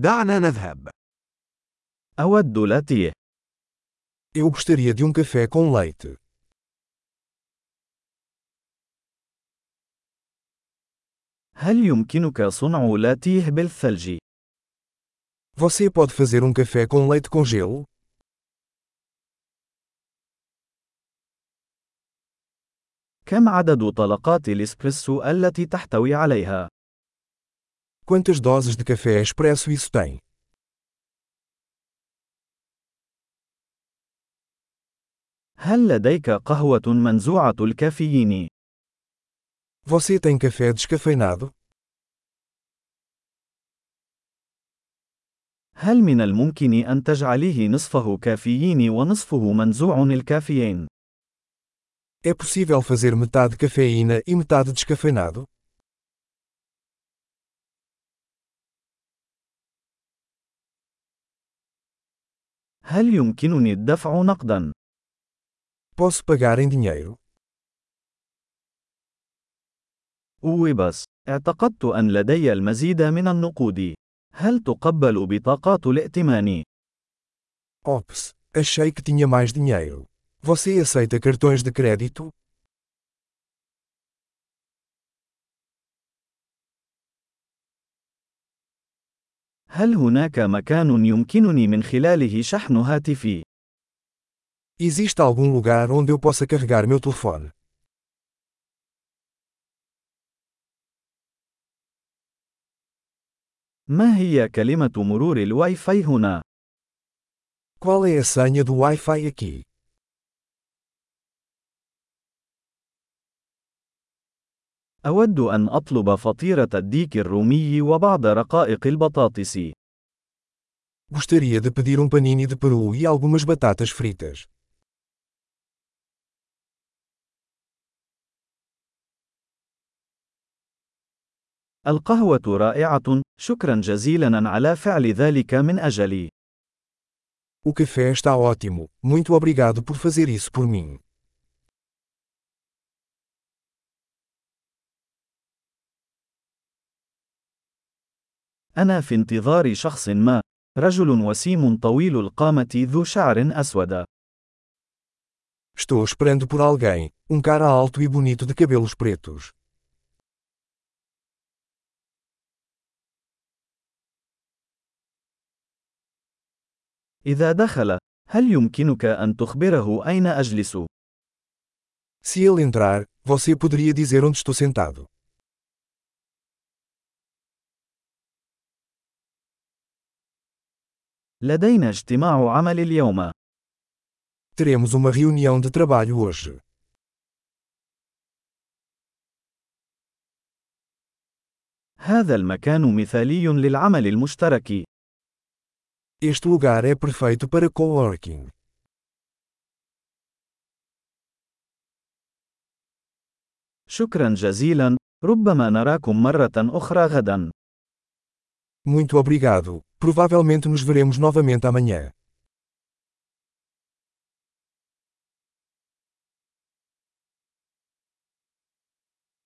دعنا نذهب. أود لاتيه. Eu gostaria de café com leite. هل يمكنك صنع لاتيه بالثلج؟ Você pode fazer café com leite com gelo? كم عدد طلقات الإسبريسو التي تحتوي عليها؟ Quantas doses de café expresso isso tem? هل لديك قهوة منزوعة الكافيين؟ Você tem café descafeinado? هل من الممكن أن تجعليه نصفه كافيين ونصفه منزوع الكافيين؟ É possível fazer metade cafeína e metade descafeinado? هل يمكنني الدفع نقداً؟ Posso pagar em dinheiro? بس اعتقدت أن لدي المزيد من النقود. هل تقبل بطاقات الائتمان؟ Ops, achei que tinha mais dinheiro. Você aceita cartões de crédito? هل هناك مكان يمكنني من خلاله شحن هاتفي؟ Existe algum lugar onde eu possa carregar meu telefone? ما هي كلمة مرور الواي فاي هنا؟ Qual é a senha do Wi-Fi aqui? أود أن أطلب فطيرة الديك الرومي وبعض رقائق البطاطس. Gostaria de pedir panini de peru e algumas batatas fritas. القهوة رائعة، شكرا جزيلا على فعل ذلك من أجلي. O café está ótimo, muito obrigado por fazer isso por mim. أنا في انتظار شخص ما، رجل وسيم طويل القامة ذو شعر أسود. Estou esperando por alguém, cara alto e bonito de cabelos pretos. إذا دخل، هل يمكنك أن تخبره أين أجلس؟ Se ele entrar, você poderia dizer onde estou sentado. لدينا اجتماع عمل اليوم. Teremos uma reunião de trabalho hoje. هذا المكان مثالي للعمل المشترك. Este lugar é perfeito para coworking. شكرا جزيلا، ربما نراكم مرة أخرى غدا. Muito obrigado, provavelmente nos veremos novamente amanhã.